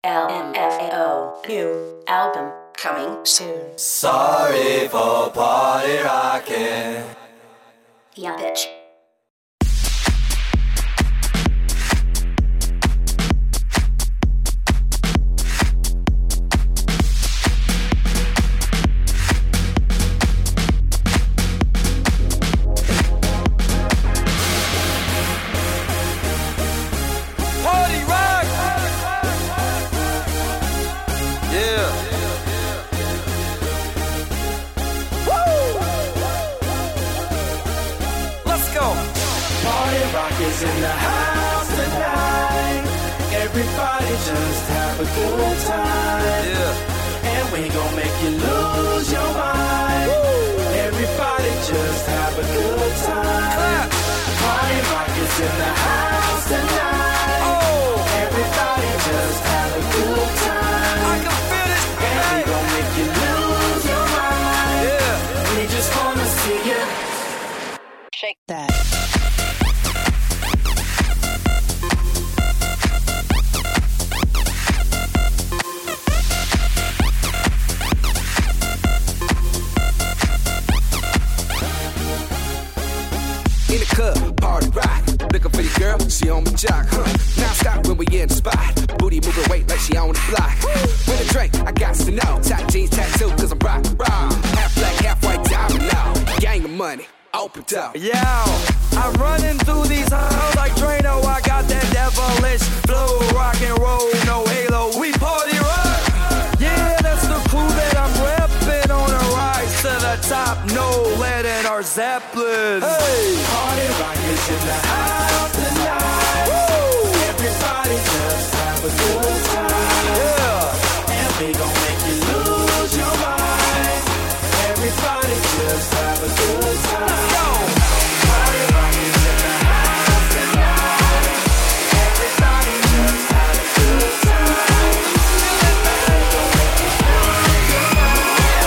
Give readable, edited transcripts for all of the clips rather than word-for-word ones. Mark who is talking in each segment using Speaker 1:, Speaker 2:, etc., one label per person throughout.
Speaker 1: LMFAO. New album coming soon.
Speaker 2: Sorry for party rocking.
Speaker 1: Young bitch.
Speaker 2: In the house tonight, everybody just have a good time. Yeah. And we gon' make you lose your mind. Woo. Everybody just have a good time. Clap. Party rock is in the house tonight. Oh. Everybody just have a good time. I can feel it. And we gon' make you lose your mind. Yeah. We just wanna see you
Speaker 1: shake that.
Speaker 3: Party rock, looking for your girl, she on my jock, Now stop when we in the spot, booty moving weight like she on the block. With a drink, I got to know, tight jeans tattoo, cause I'm rock, half black, half white diamond now, gang of money, open up.
Speaker 4: Yo, I'm running through these halls like Drano, I got that devilish flow, rock and roll, no halo, we party rock. Yeah, that's the crew that I'm repping on a rise to the top, no lead in our Zeppelin. Hey,
Speaker 2: party rock is in the house tonight. Woo! Everybody just have a good time. Yeah, and we gon' make you lose your mind. Everybody just have a good time. Let's go. Party rock is in the house tonight. Everybody just have a good time. We gon' make you lose your mind.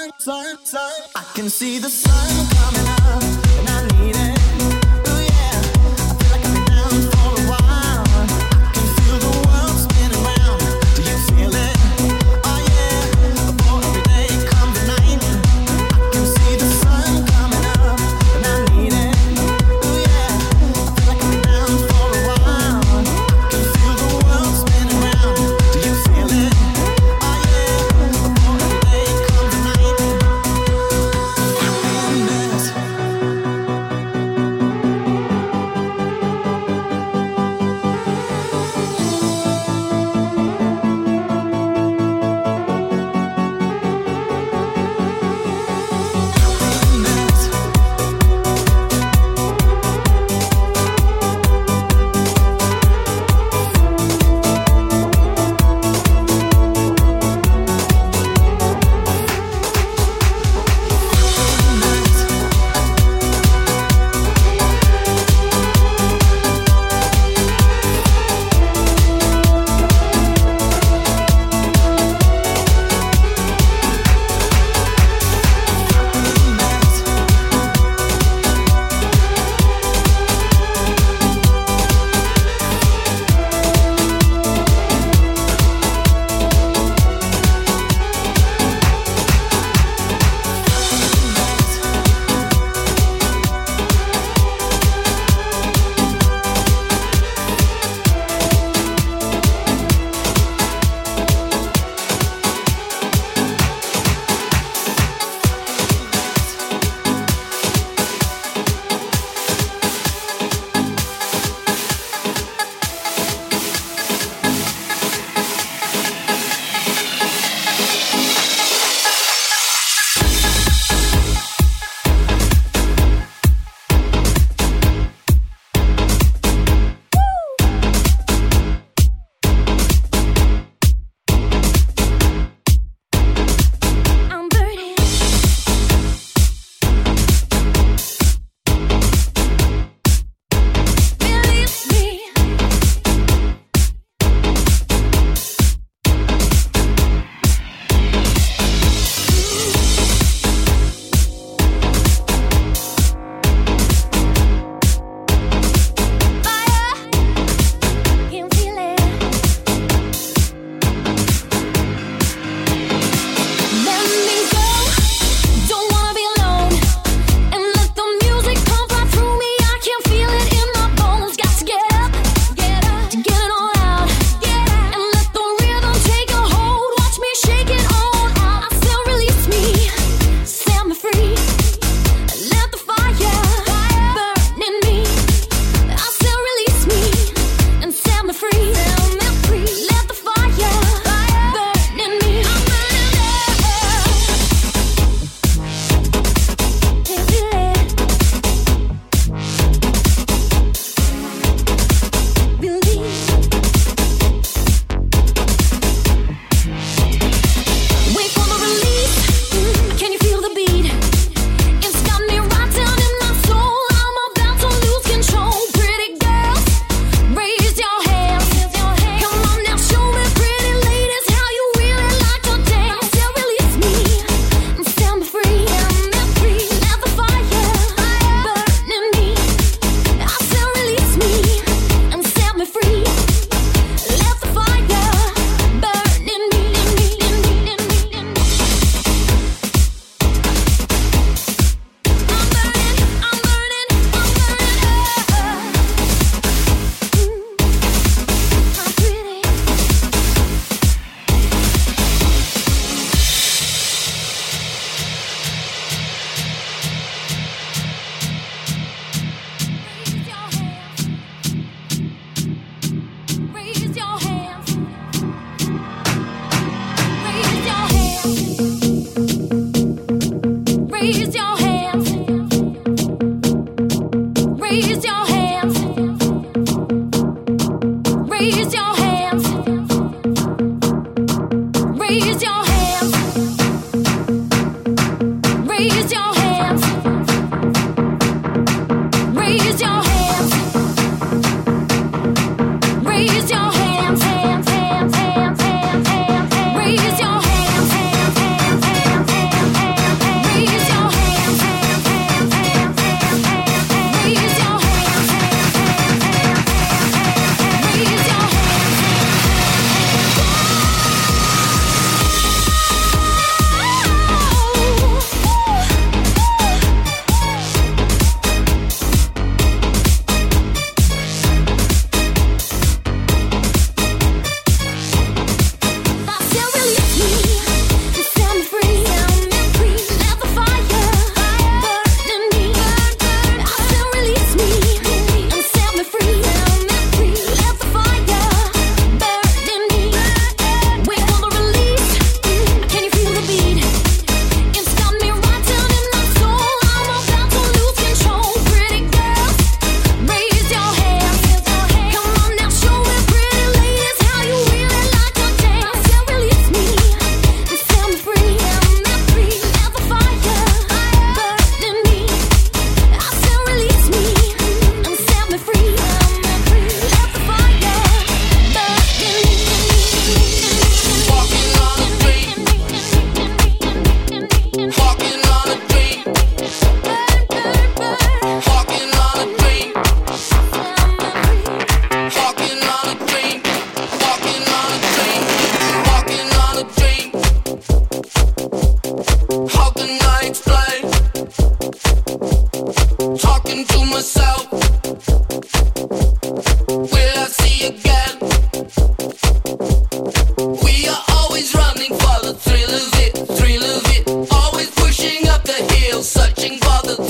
Speaker 5: I can see the sun coming up, and I need it. Ooh yeah, I feel like I've been down for a while. I can feel the world spinning round. Do you feel it? Oh yeah, before every day comes the night. I can see the sun coming up, and I need it. Ooh yeah, I feel like I've been down for a while. I can feel the world spinning round. Do you feel it? Oh yeah, before every day comes the night.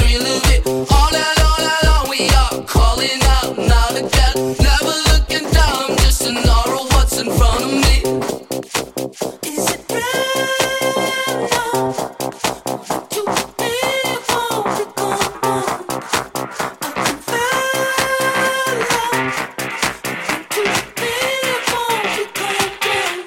Speaker 6: thrill of it. All night long, we are calling out, not a doubt. Never looking down, just an aura of what's in front of me. Is it real now? To be won't be gone. I can feel love. To be won't be gone.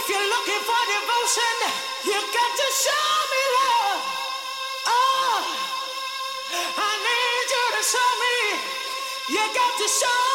Speaker 5: If you're looking for devotion, you got to show me love. Oh, I need you to show me. You got to show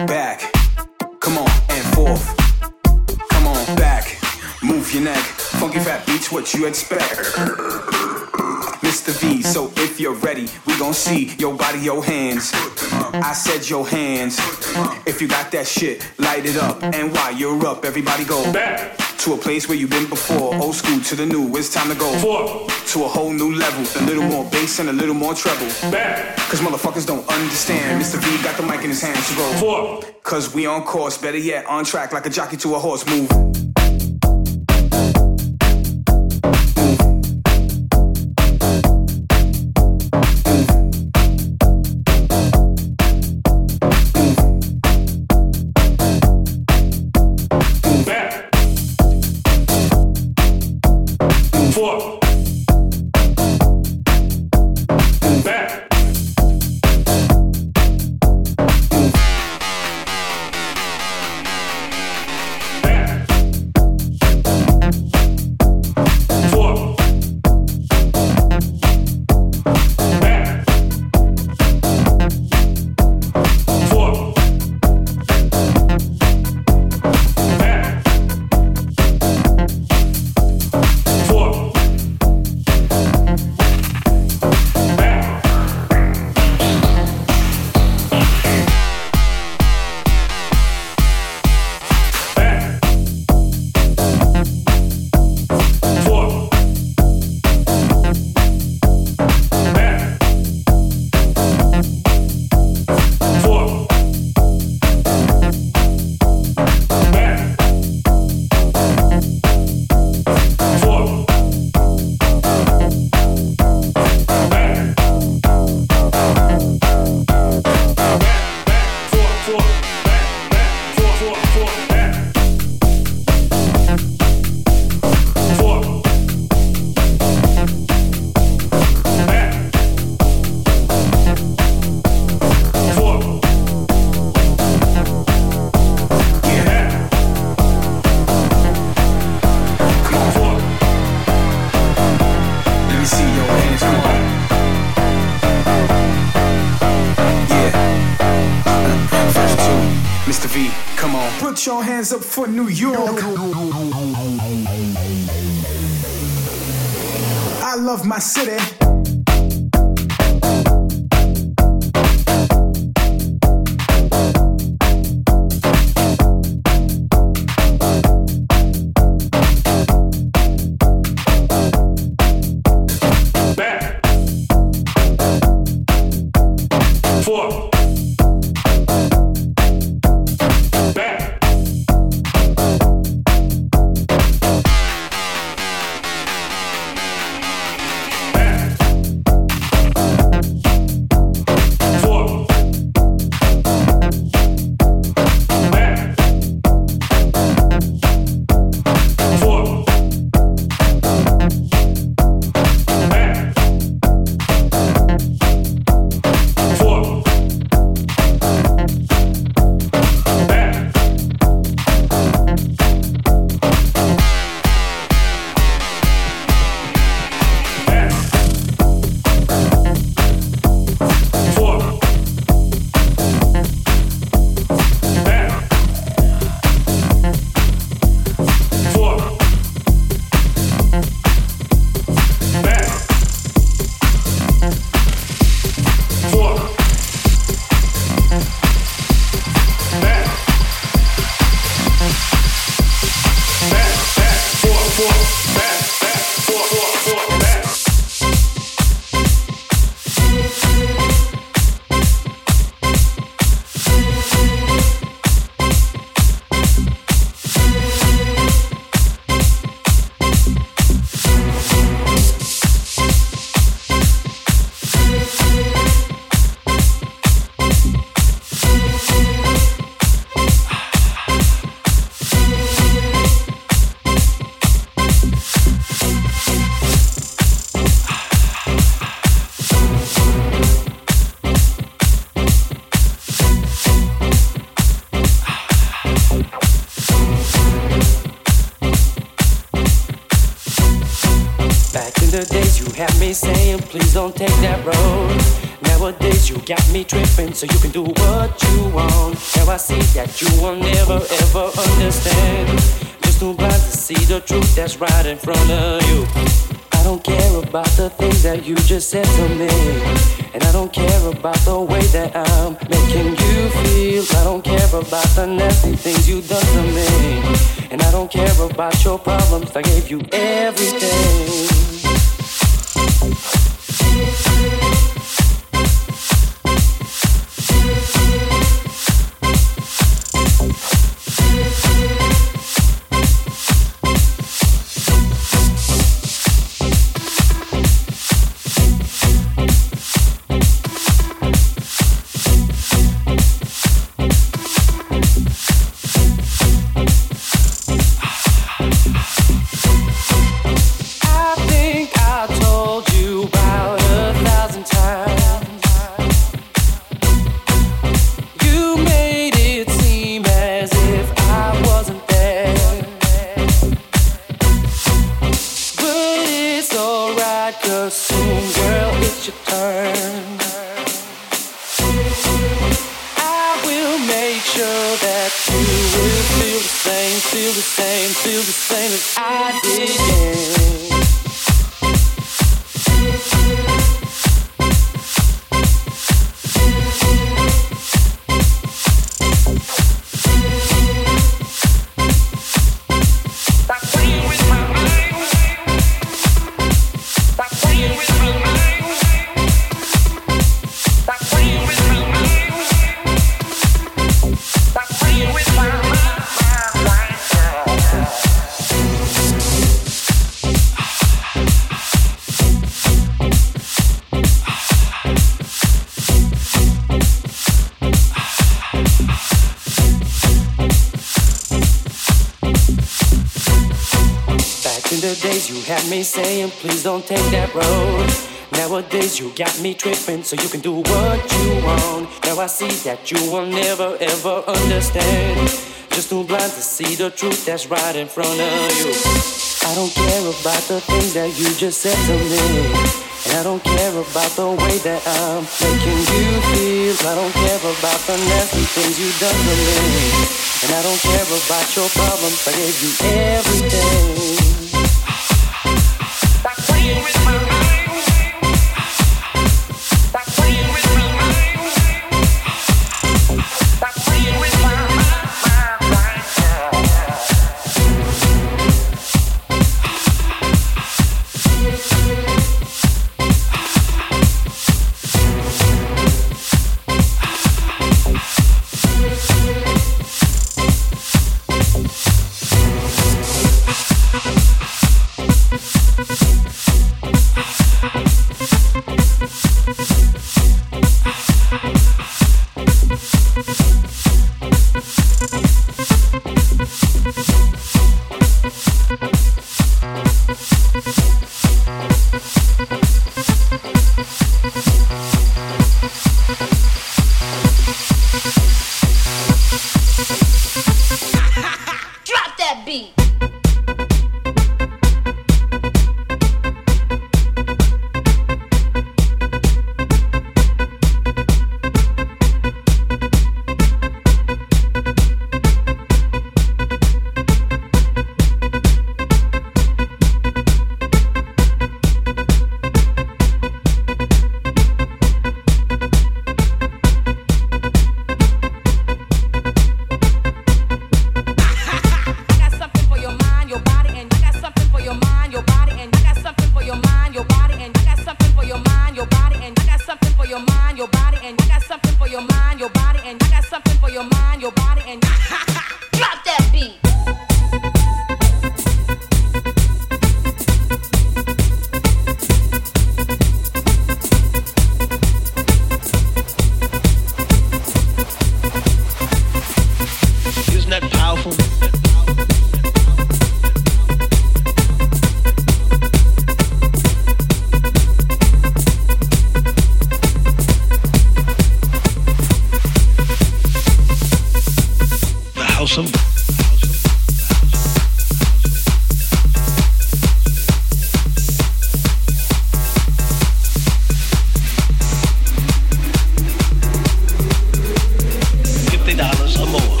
Speaker 7: back, come on, and forth. Come on, back, move your neck. Funky fat beats, what you expect? Mr. V, so if you're ready, we gon' see your body, your hands. I said your hands. If you got that shit, light it up. And while you're up, everybody go back to a place where you've been before. Old school to the new, it's time to go to a whole new level. A little more bass and a little more treble. Back. Cause motherfuckers don't understand. Mr. V got the mic in his hand, so go. Cause we on course, better yet, on track like a jockey to a horse. Move. Put your hands up for New York. I love my city.
Speaker 8: Saying please don't take that road. Nowadays you got me tripping, so you can do what you want. Now I see that you will never ever understand. Just too blind to see the truth that's right in front of you. I don't care about the things that you just said to me, and I don't care about the way that I'm making you feel. I don't care about the nasty things you done to me, and I don't care about your problems. I gave you everything. Saying please don't take that road. Nowadays you got me tripping so you can do what you want. Now I see that you will never ever understand. Just too blind to see the truth that's right in front of you. I don't care about the things that you just said to me, and I don't care about the way that I'm making you feel. I don't care about the nasty things you done to me, and I don't care about your problems. I gave you everything.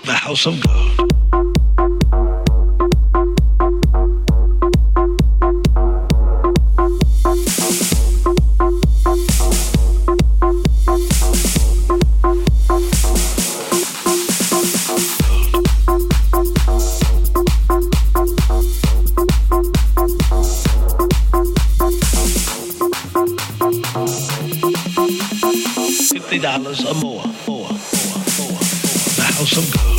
Speaker 9: The house of God. $50 or more. The house of God.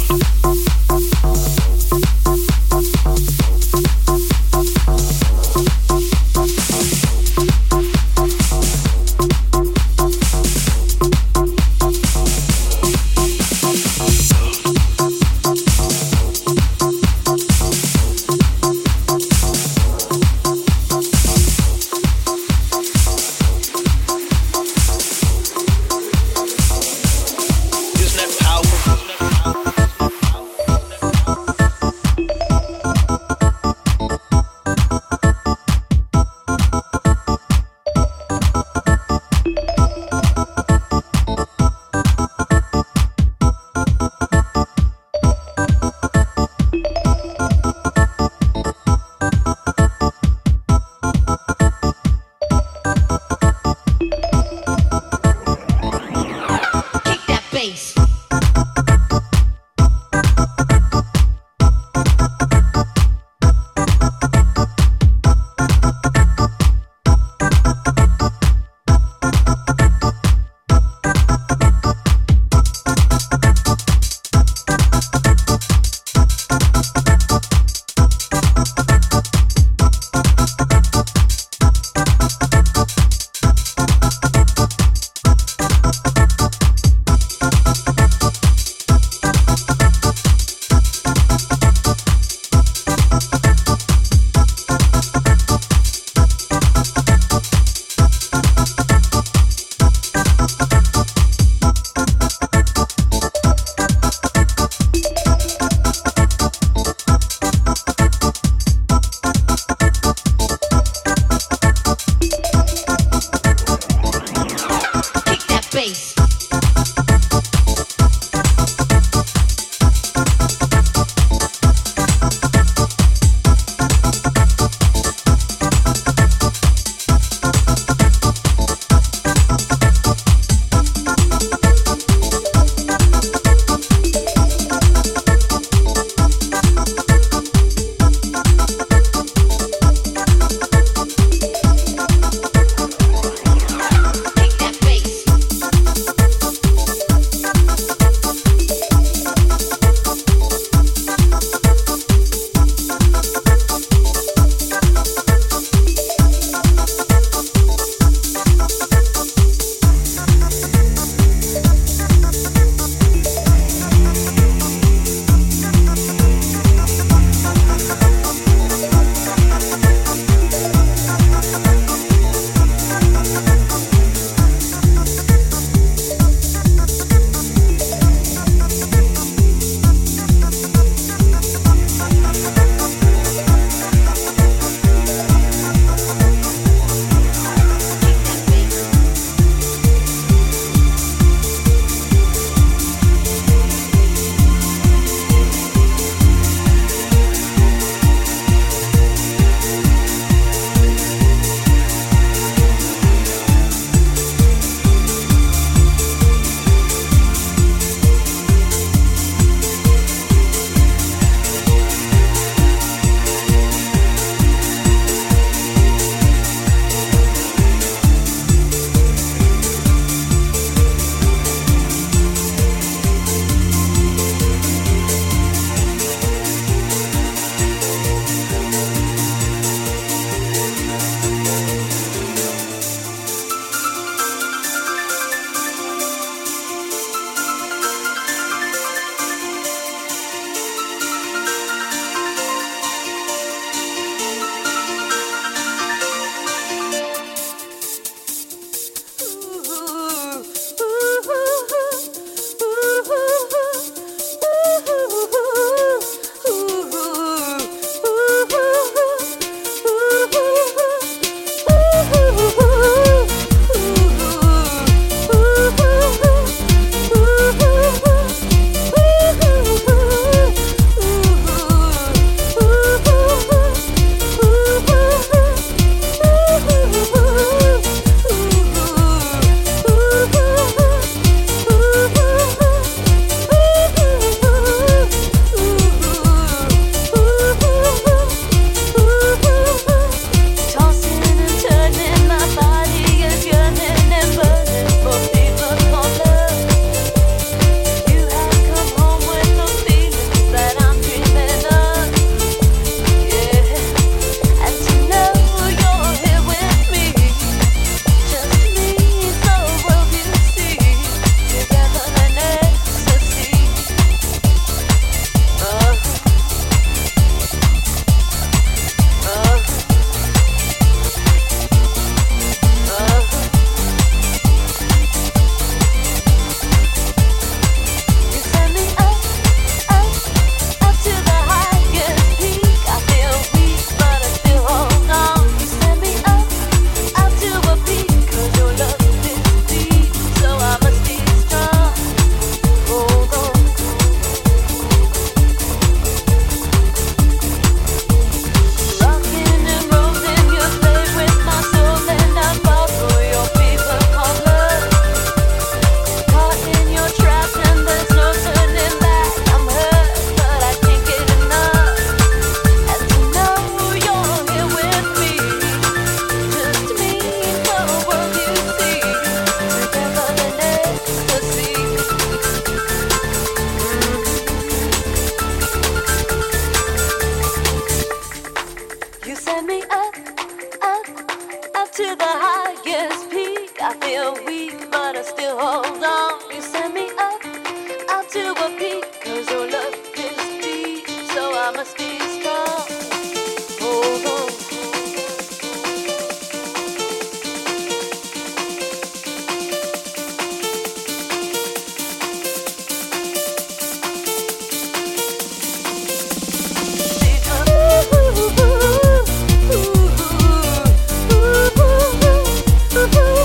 Speaker 10: feel weak, but I still hold on. You send me up, out to a peak, 'cause your love is deep, so I must be strong. Hold on.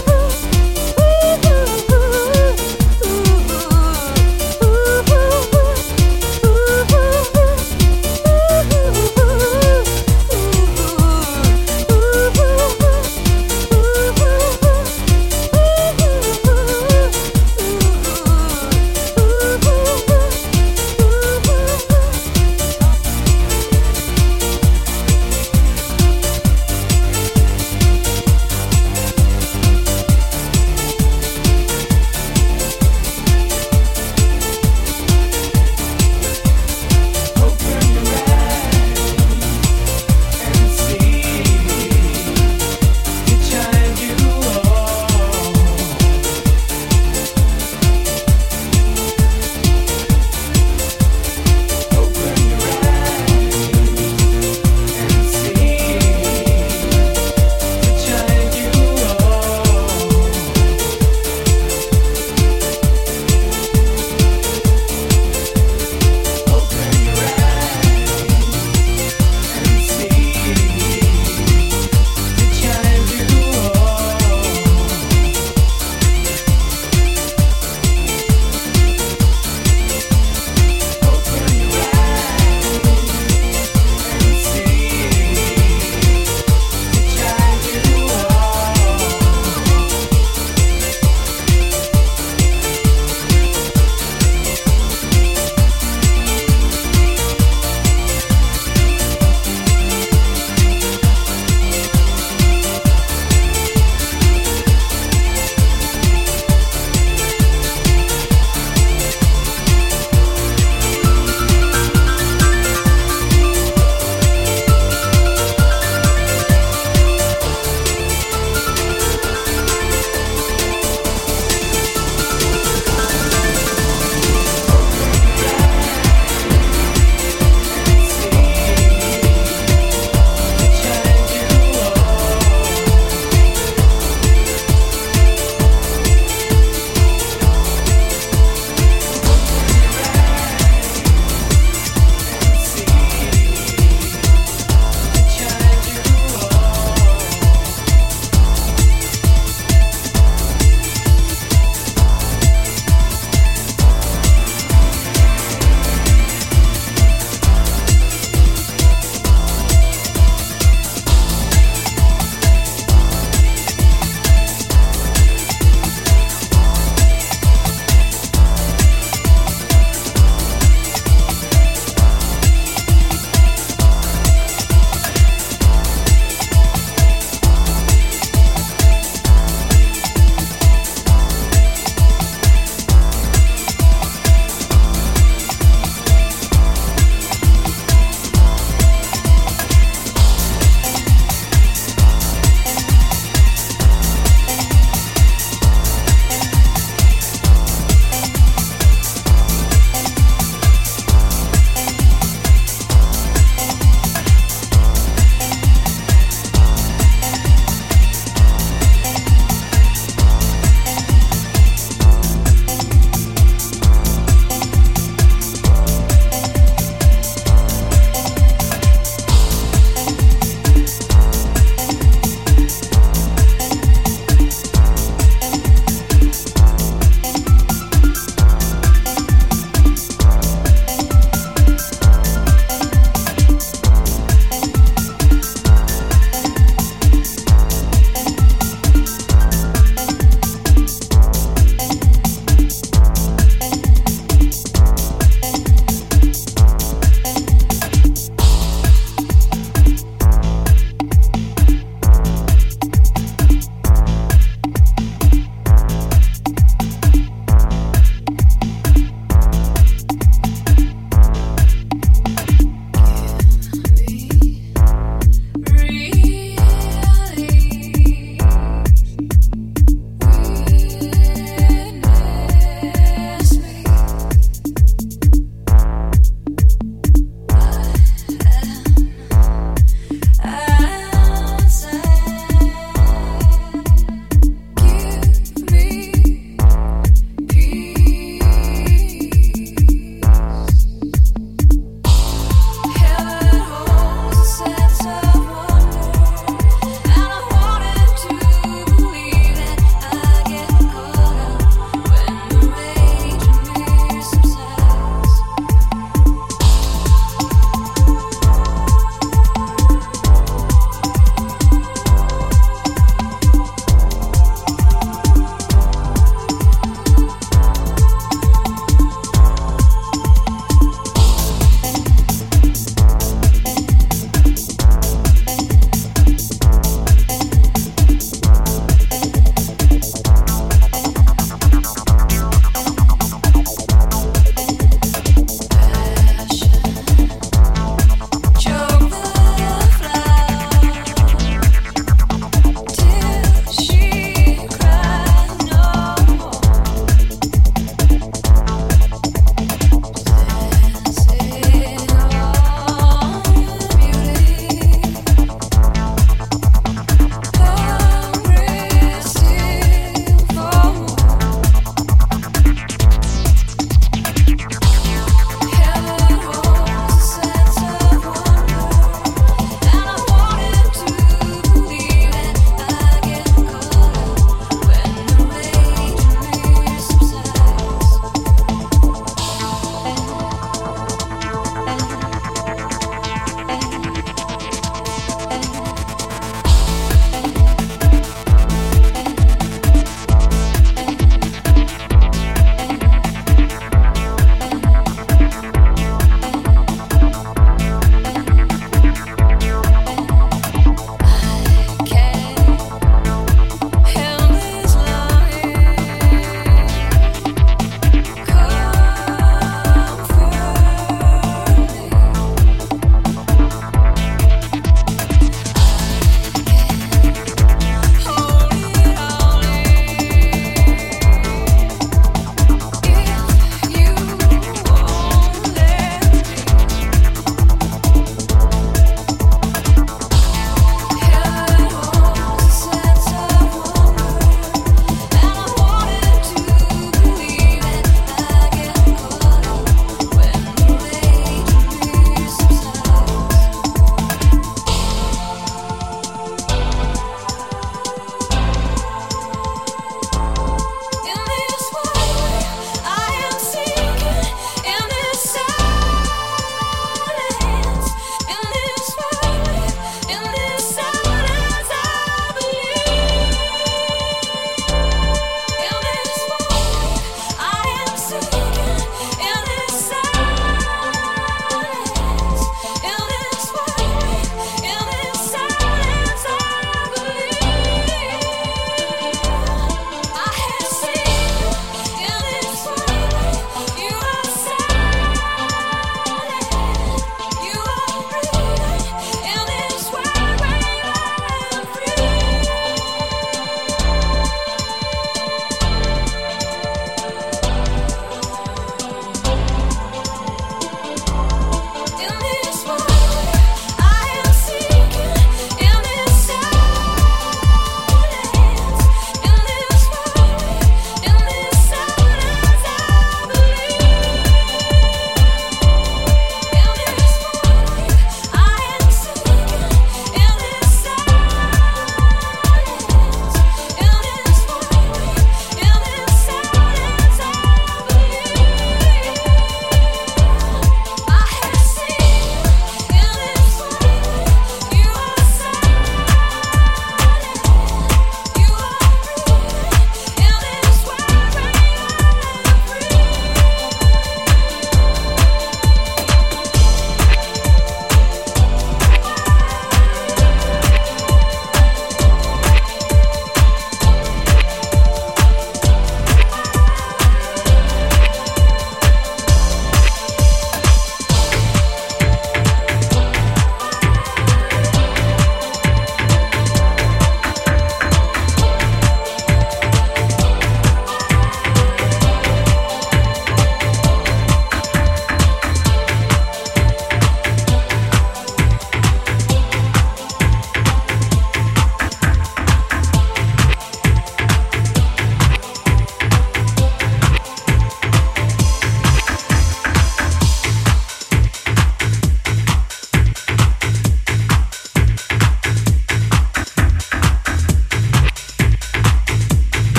Speaker 10: Ooh,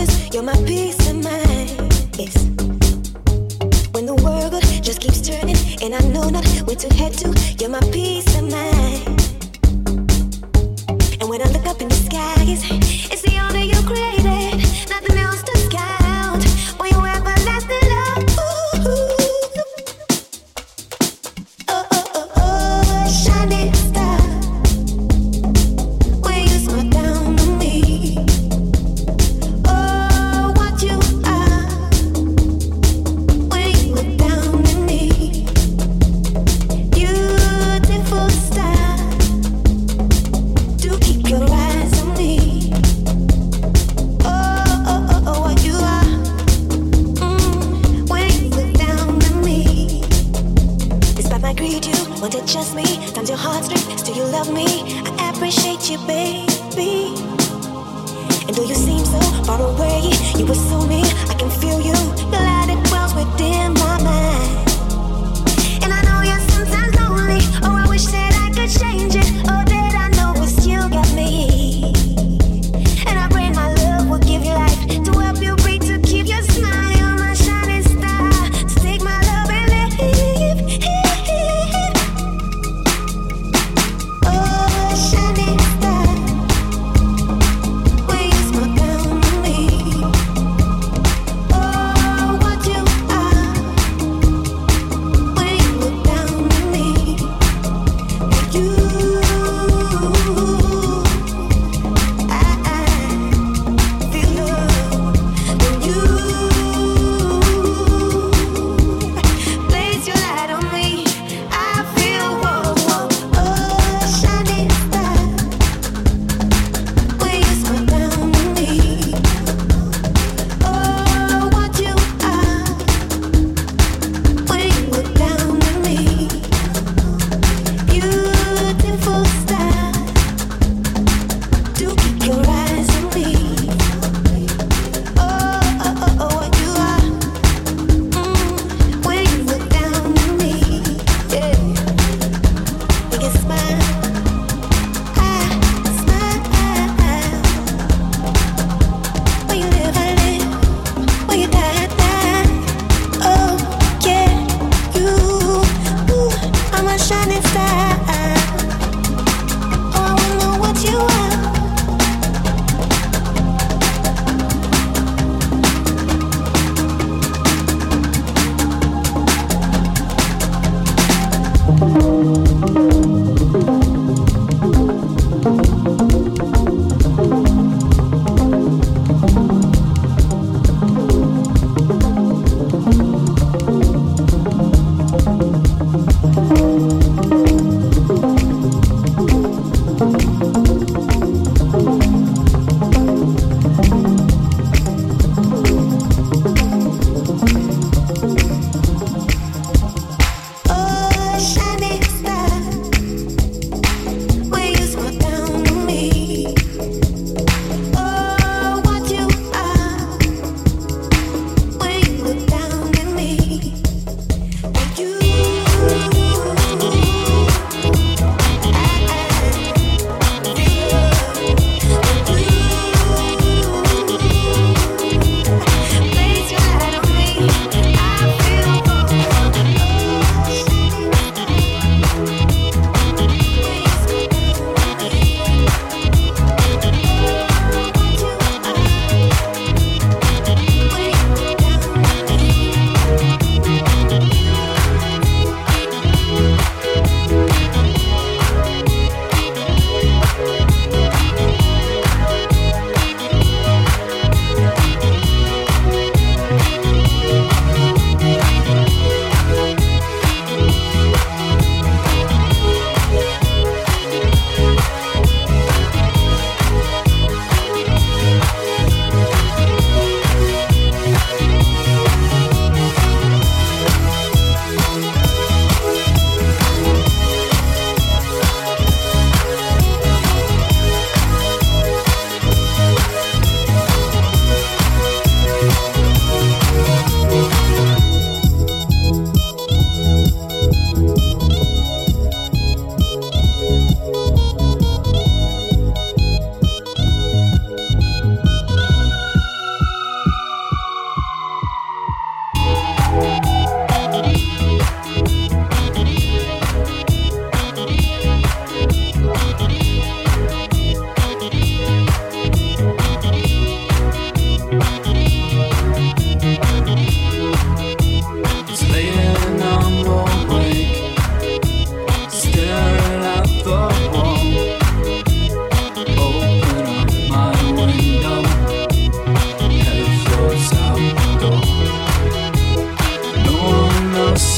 Speaker 11: 'cause you're my peace of mind. Yes. When the world just keeps turning and I know not where to head to, you're my peace of mind. And when I look up in the skies, it's the honor you created, nothing else to count. When you everlasting love, shining star. When you smile down on me, oh, what you are. When you look down at me, beautiful star. Do keep your eyes on me. Oh, oh, oh, oh, what you are. When you look down at me, despite my greed, you want to trust me. Times your heartstrings, still you love me. I appreciate you, baby. And though you seem so far away, you were so near. I can feel you. The light it dwells within my mind. And I know you're sometimes lonely. Oh, I wish that I could change it. Oh, that I know it's you got me. And I pray my love will give you life to help you breathe, to keep your smile. You're my shining star. To take my love and live. Oh, shining star. When you smile down on me,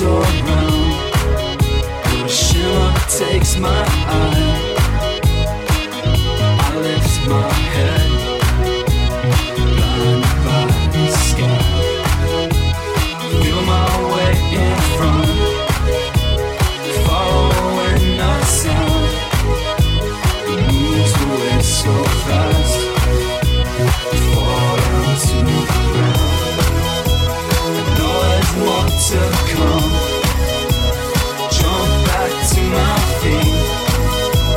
Speaker 2: around, but a shimmer takes my eye. I lift my head, blinded by the sky. Feel my way in front, following the sound. It moves away so fast, fall down to the ground. I know there's more to come. Jump back to my feet.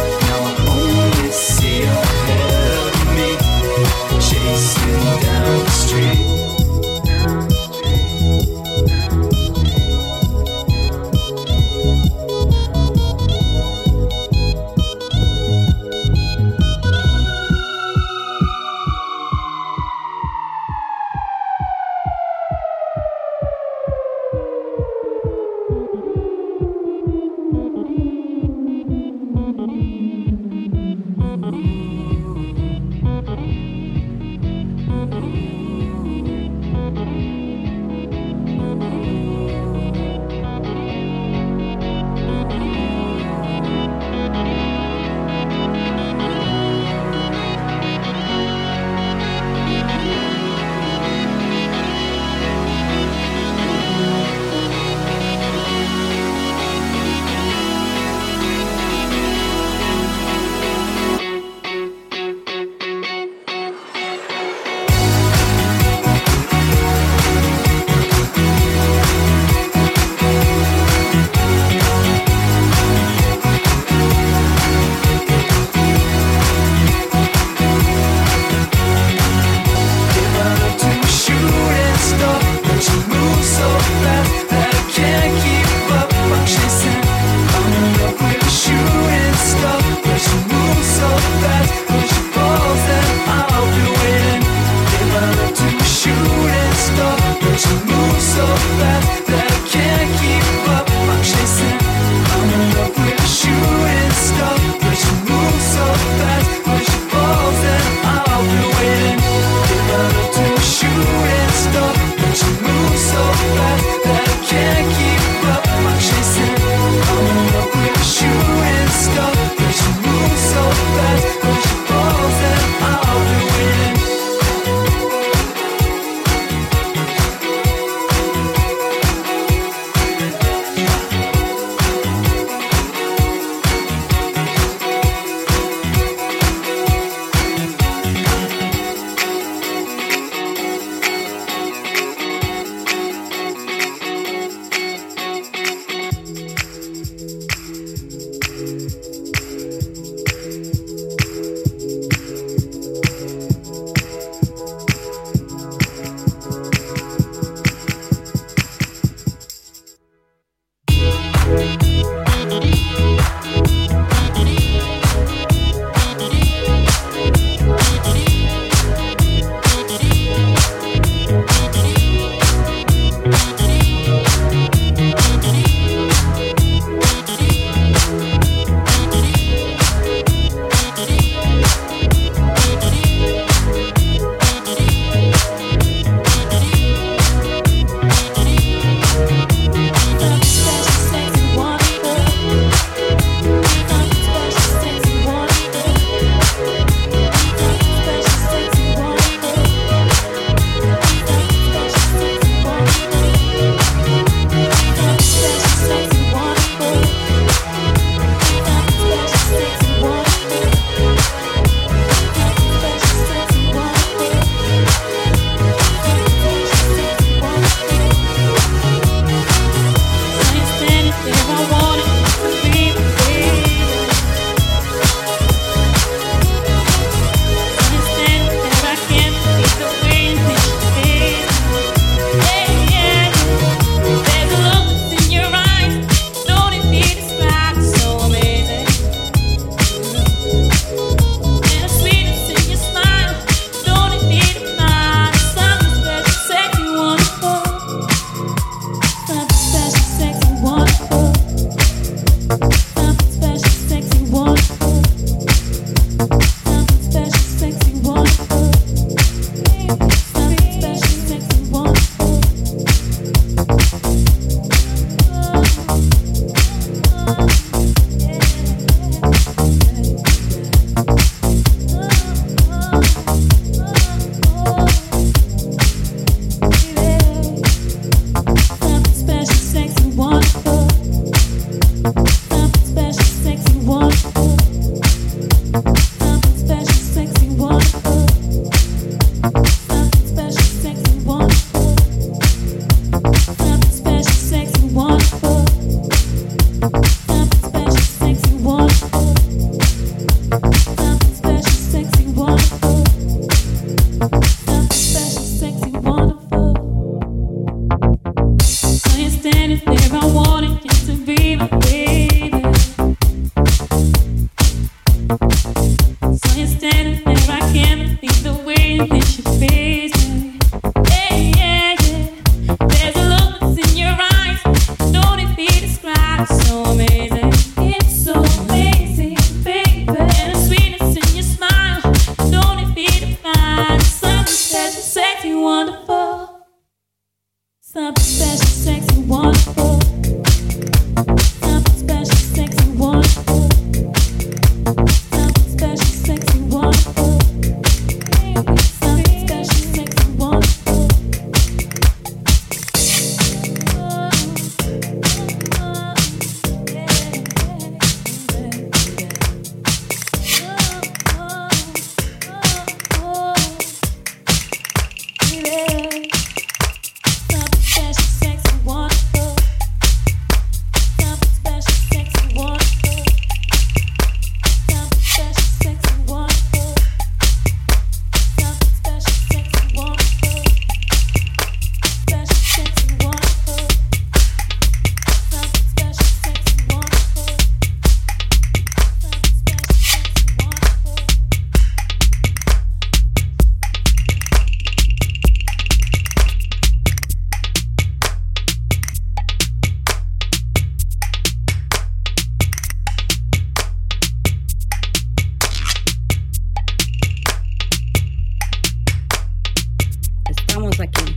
Speaker 12: aquí.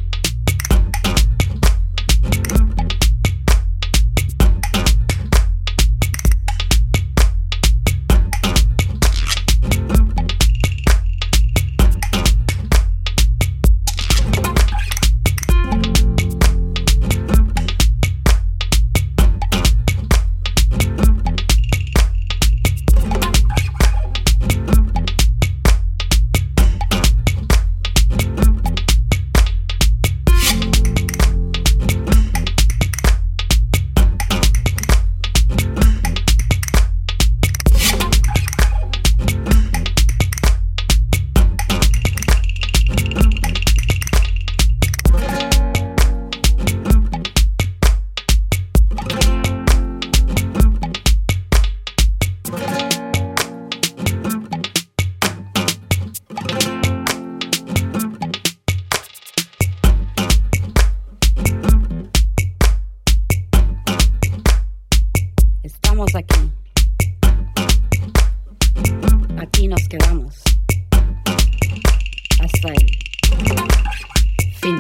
Speaker 12: Estamos aquí. Aquí nos quedamos. Hasta el fin.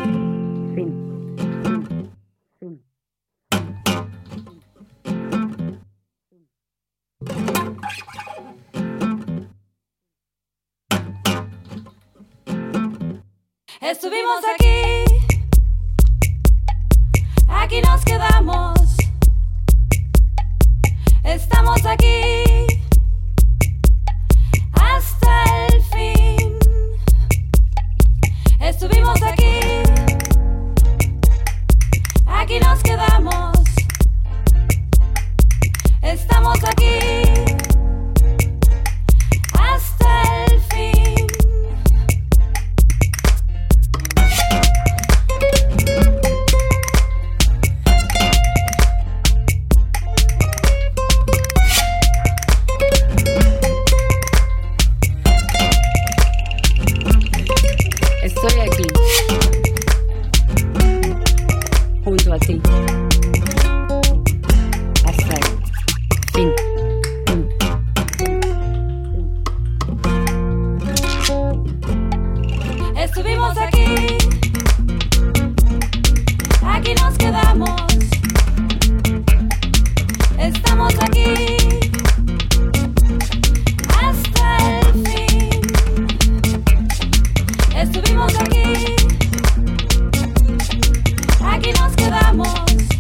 Speaker 10: Estuvimos aquí, aquí nos quedamos. Estamos aquí hasta el fin. Estuvimos aquí, aquí nos quedamos. Estamos aquí hasta el fin.
Speaker 12: Estoy aquí, junto a ti, hasta el fin.
Speaker 10: Estuvimos aquí, aquí nos quedamos. Estamos aquí hasta el fin. Estuvimos aquí, aquí nos quedamos.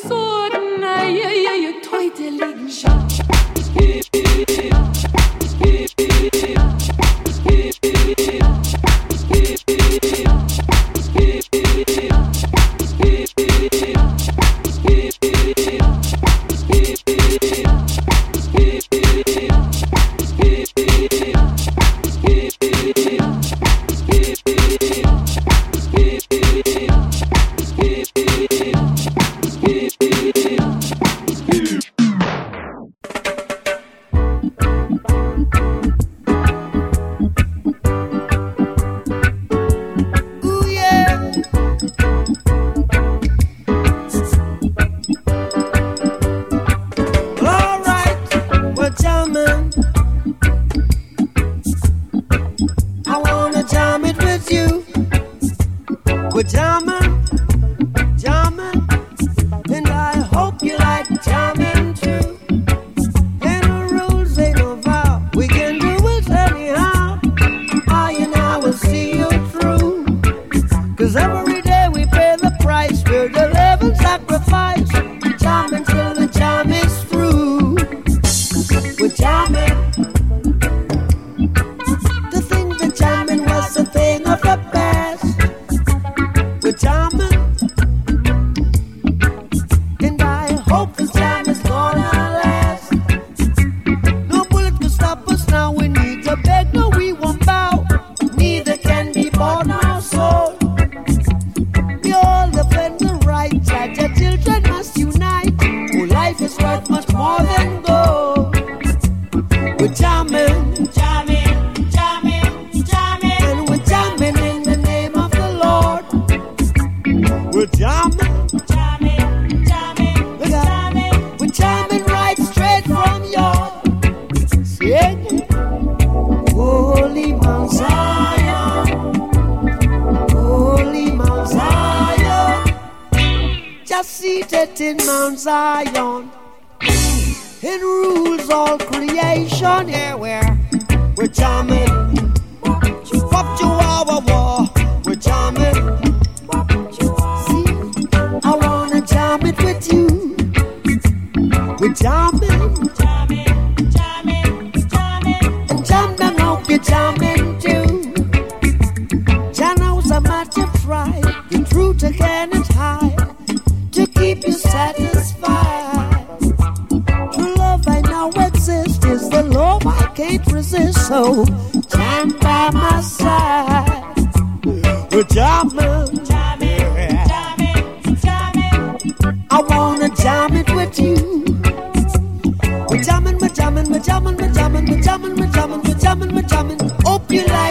Speaker 13: Soden, ja, heute liegen schon.
Speaker 14: In Mount Zion, it rules all creation. Yeah, we're jamming. Pop Chihuahua war, we're jamming. See, I wanna jam it with you. We're jamming, and jam down, hope you're jamming too. Jah knows how much you try. The truth again is high. To keep you satisfied. True love I know exists is the love I can't resist. So stand by my side. We're jamming, I wanna jam it with you. We're jamming, we're jamming, we're jamming, we're jamming, we're jamming, we're jamming, we're jamming, we're jamming. Hope you like.